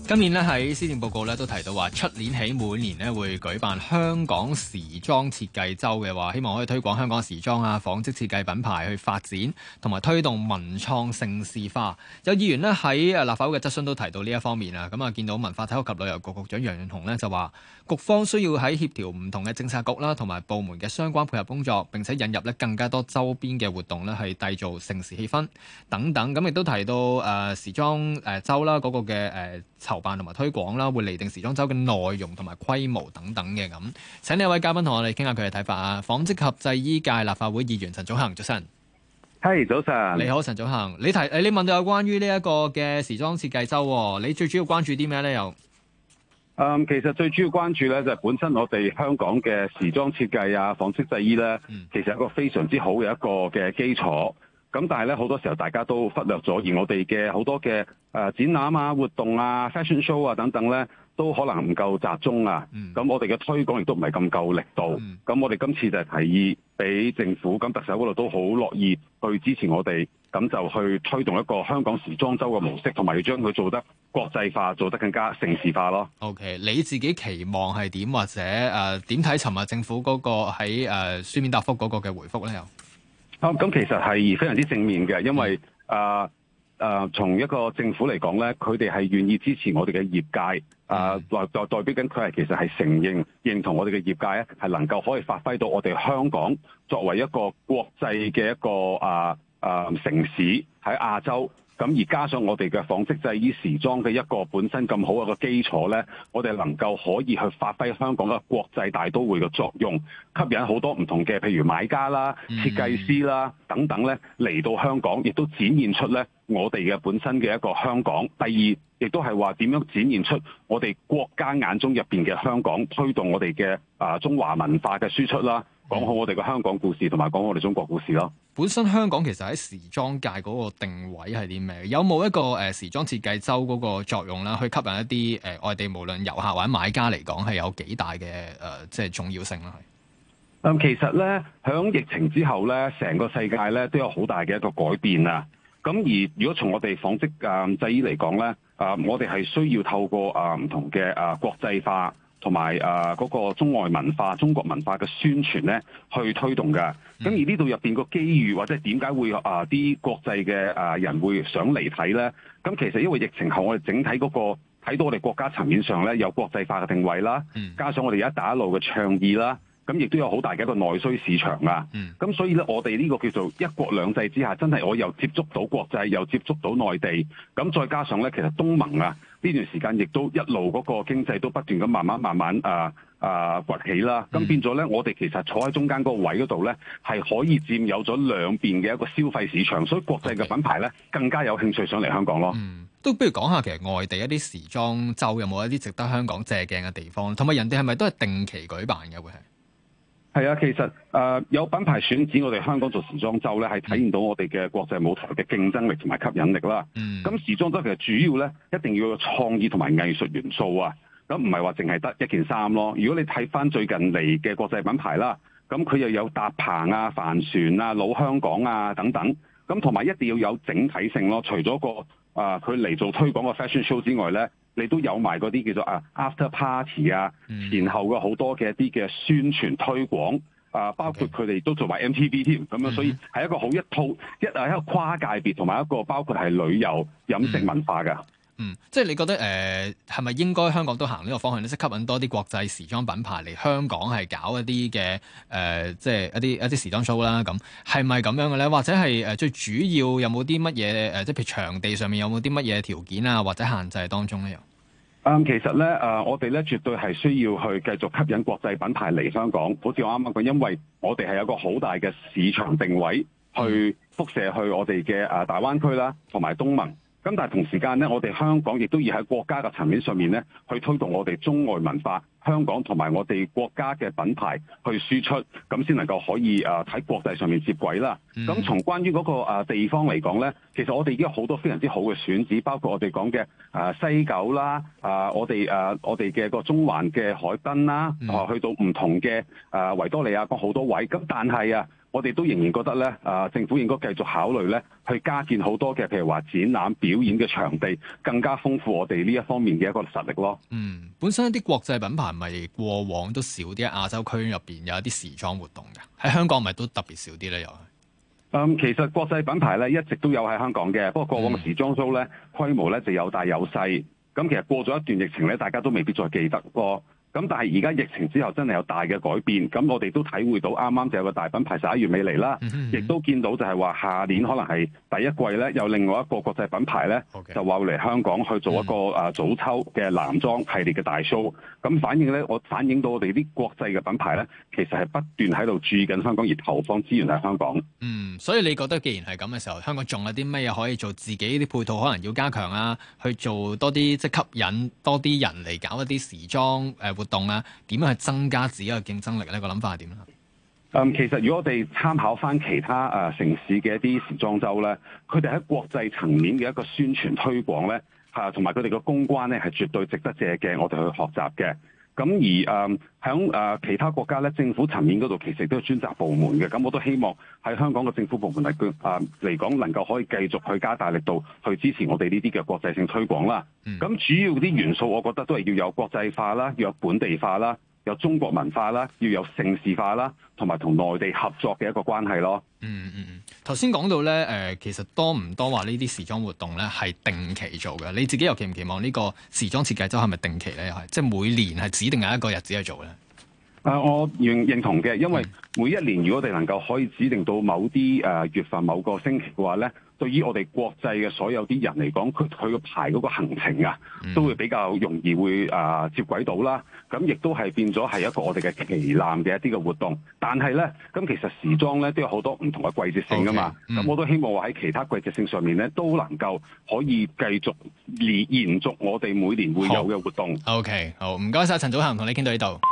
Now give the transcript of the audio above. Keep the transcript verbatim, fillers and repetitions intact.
今年咧喺施政報告咧都提到話，出年起每年咧會舉辦香港時裝設計周嘅話，希望可以推廣香港時裝啊、紡織設計品牌去發展，同埋推動文創盛事化。有議員咧喺誒立法會嘅質詢都提到呢一方面啊，咁啊見到文化體育及旅遊局局長楊潤雄咧就話，局方需要喺協調唔同嘅政策局啦，同埋部門嘅相關配合工作，並且引入咧更加多周邊嘅活動咧，去締造盛事氣氛等等。咁亦都提到誒、呃、時裝誒周啦，嗰個嘅誒籌辦同埋推廣啦，會釐定時裝周嘅內容同埋規模等等嘅咁。請呢一位嘉賓同我哋傾下佢嘅睇法啊！紡織及製衣界立法會議員陳祖恒，早晨。 係、hey, 早晨。你好，陳祖恒。你提誒，你問到有關於呢一個嘅時裝設計周，你最主要關注啲咩咧？又嗯，其實最主要關注咧就係本身我哋香港嘅時裝設計啊、紡織製衣咧，嗯、其實係一個非常之好嘅一個嘅基礎。咁但係咧好多時候大家都忽略咗，而我哋嘅好多嘅誒、呃、展覽啊、活動啊、fashion show 啊等等咧，都可能唔夠集中啊。咁、嗯、我哋嘅推廣亦都唔係咁夠力度。咁、嗯、我哋今次就係提議俾政府，咁特首嗰度都好樂意去支持我哋，咁就去推動一個香港時裝周嘅模式，同埋要將佢做得國際化，做得更加盛事化咯。 OK，你自己期望係點，或者誒點睇尋日政府嗰個喺誒、呃、書面答覆嗰個嘅回覆咧？又啊，咁其實係非常之正面嘅，因為啊啊，從、呃呃、一個政府嚟講咧，佢哋係願意支持我哋嘅業界，啊、呃、代代代表緊佢係其實係承認認同我哋嘅業界咧，係能夠可以發揮到我哋香港作為一個國際嘅一個啊啊、呃呃、城市喺亞洲。咁而加上我哋嘅紡織製衣時裝嘅一個本身咁好嘅個基礎咧，我哋能夠可以去發揮香港嘅國際大都會嘅作用，吸引好多唔同嘅譬如買家啦、設計師啦等等咧嚟到香港，亦都展現出咧我哋嘅本身嘅一個香港。第二，亦都係話點樣展現出我哋國家眼中入邊嘅香港，推動我哋嘅啊中華文化嘅輸出啦，講好我哋嘅香港故事，同埋講我哋中國故事咯。 本身香港其實喺時裝界嗰個定位係啲咩？有冇一個誒、呃、時裝設計周嗰個作用啦，去吸引一啲誒、呃、外地無論遊客或者買家嚟講係有幾大嘅誒、呃、即係重要性啦？係。 嗯，其實咧響疫情之後咧，成個世界咧都有好大嘅一個改變啊。咁而如果從我哋紡織誒製衣嚟講咧，啊、呃、我哋係需要透過啊唔、呃、同嘅啊、呃、國際化。同埋誒嗰個中外文化、中國文化嘅宣傳咧，去推動嘅。咁、嗯、而呢度入邊個機遇，或者點解會啊啲、呃、國際嘅誒人會想嚟睇咧？咁其實因為疫情後，我哋整體嗰、那個睇到我哋國家層面上咧有國際化嘅定位啦，嗯、加上我哋一帶一路嘅倡議啦。咁亦都有好大嘅一個內需市場啊！咁、嗯、所以咧，我哋呢個叫做一國兩制之下，真係我又接觸到國際，又接觸到內地。咁再加上咧，其實東盟啊呢段時間亦都一路嗰個經濟都不斷咁慢慢慢慢啊啊崛起啦。咁、嗯、變咗咧，我哋其實坐喺中間嗰個位嗰度咧，係可以佔有咗兩邊嘅一個消費市場，所以國際嘅品牌咧更加有興趣上嚟香港咯。 嗯，都不如講下其實外地一啲時裝週有冇一啲值得香港借鏡嘅地方，同埋人哋係咪都係定期舉辦嘅會係？ 係啊，其實誒、呃、有品牌選址我哋香港做時裝週咧，係體現到我哋嘅國際舞台嘅競爭力同埋吸引力啦。咁、嗯、時裝週其實主要咧一定要有創意同埋藝術元素啊，咁唔係話淨係得一件衫咯。如果你睇翻最近嚟嘅國際品牌啦，咁佢又有搭棚啊、帆船啊、老香港啊等等，咁同埋一定要有整體性咯。除咗個啊佢嚟做推廣嘅 fashion show 之外咧，你都有埋嗰啲叫做啊 after party 啊，前後嘅好多嘅一啲嘅宣傳推廣啊，包括佢哋都做埋 M T V 添，咁樣所以係一個好一套一係一個跨界別，同埋一個包括係旅遊飲食文化㗎。 嗯，即係你覺得誒係咪應該香港都行呢個方向咧？即係吸引多啲國際時裝品牌嚟香港係搞一啲嘅誒，即係一啲一啲時裝 show 啦。咁係咪咁樣嘅咧？或者係誒最主要有冇啲乜嘢誒？即係譬如場地上面有冇啲乜嘢條件啊，或者限制當中咧？又嗯，其實咧誒、呃，我哋咧絕對係需要去繼續吸引國際品牌嚟香港。好似我啱啱講，因為我哋係有個好大嘅市場定位去輻射去我哋嘅誒大灣區啦，同埋東盟。咁但係同時間咧，我哋香港亦都要喺國家嘅層面上面咧，去推動我哋中外文化，香港同埋我哋國家嘅品牌去輸出，咁先能夠可以誒喺國際上面接軌啦。咁、嗯、從關於嗰個誒地方嚟講咧，其實我哋已經有好多非常之好嘅選址，包括我哋講嘅誒西九啦，啊我哋誒我哋嘅個中環嘅海濱啦，啊去到唔同嘅誒維多利亞港好多位。咁但係啊， 我哋都仍然覺得咧，啊政府應該繼續考慮咧，去加建好多嘅譬如話展覽表演嘅場地，更加豐富我哋呢一方面嘅一個實力咯。 嗯，本身一啲國際品牌咪過往都少啲，喺亞洲區入邊有一啲時裝活動嘅，喺香港咪都特別少啲咧，又係。 嗯，其實國際品牌咧一直都有喺香港嘅，不過過往嘅時裝 show 咧規模咧就有大有細，咁其實過咗一段疫情咧，大家都未必再記得咯。咁但係而家疫情之後真係有大嘅改變，咁我哋都體會到啱啱就有個大品牌十一月尾嚟啦，亦、嗯嗯、都見到就係話下年可能係第一季咧有另外一個國際品牌咧，okay. 就話會嚟香港去做一個啊早秋嘅男裝系列嘅大 show，咁反映咧我反映到我哋啲國際嘅品牌咧，其實係不斷喺度注意緊香港而投放資源喺香港。 嗯，所以你覺得既然係咁嘅時候，香港仲有啲咩嘢可以做？自己啲配套可能要加強啊，去做多啲即係吸引多啲人嚟搞一啲時裝誒活動啊，點樣去增加自己嘅競爭力呢？個諗法係點咧？ 嗯，其實如果我哋參考翻其他誒、呃、城市嘅一啲時裝週咧，佢哋喺國際層面嘅一個宣傳推廣咧，嚇同埋佢哋嘅公關咧，係絕對值得借鏡，我哋去學習嘅。咁而誒喺誒其他國家咧，政府層面嗰度其實都有專責部門嘅。咁我都希望喺香港嘅政府部門嚟誒嚟講，能夠可以繼續去加大力度去支持我哋呢啲嘅國際性推廣啦。咁、嗯、主要啲元素，我覺得都係要有國際化啦，要有本地化啦，有中國文化啦，要有盛事化啦，同埋同內地合作嘅一個關係咯。 嗯嗯嗯，頭先講到咧，誒、呃、其實多唔多話呢啲時裝活動咧係定期做嘅？你自己又期唔期望呢個時裝設計週係咪定期咧？又係即係每年係指定有一個日子去做咧？ 誒、呃，我認認同嘅，因為每一年如果我哋能夠可以指定到某啲誒、呃、月份某個星期嘅話咧，對於我哋國際嘅所有啲人嚟講，佢佢個排嗰個行程啊，都會比較容易會啊、呃、接軌到啦。咁亦都係變咗係一個我哋嘅旗艦嘅一啲嘅活動。但係咧，咁其實時裝咧都有好多唔同嘅季節性噶嘛。咁、okay, 嗯、我都希望話喺其他季節性上面咧，都能夠可以繼續延延續我哋每年會有嘅活動。 OK，好，唔該晒陳祖涵，同你傾到呢度。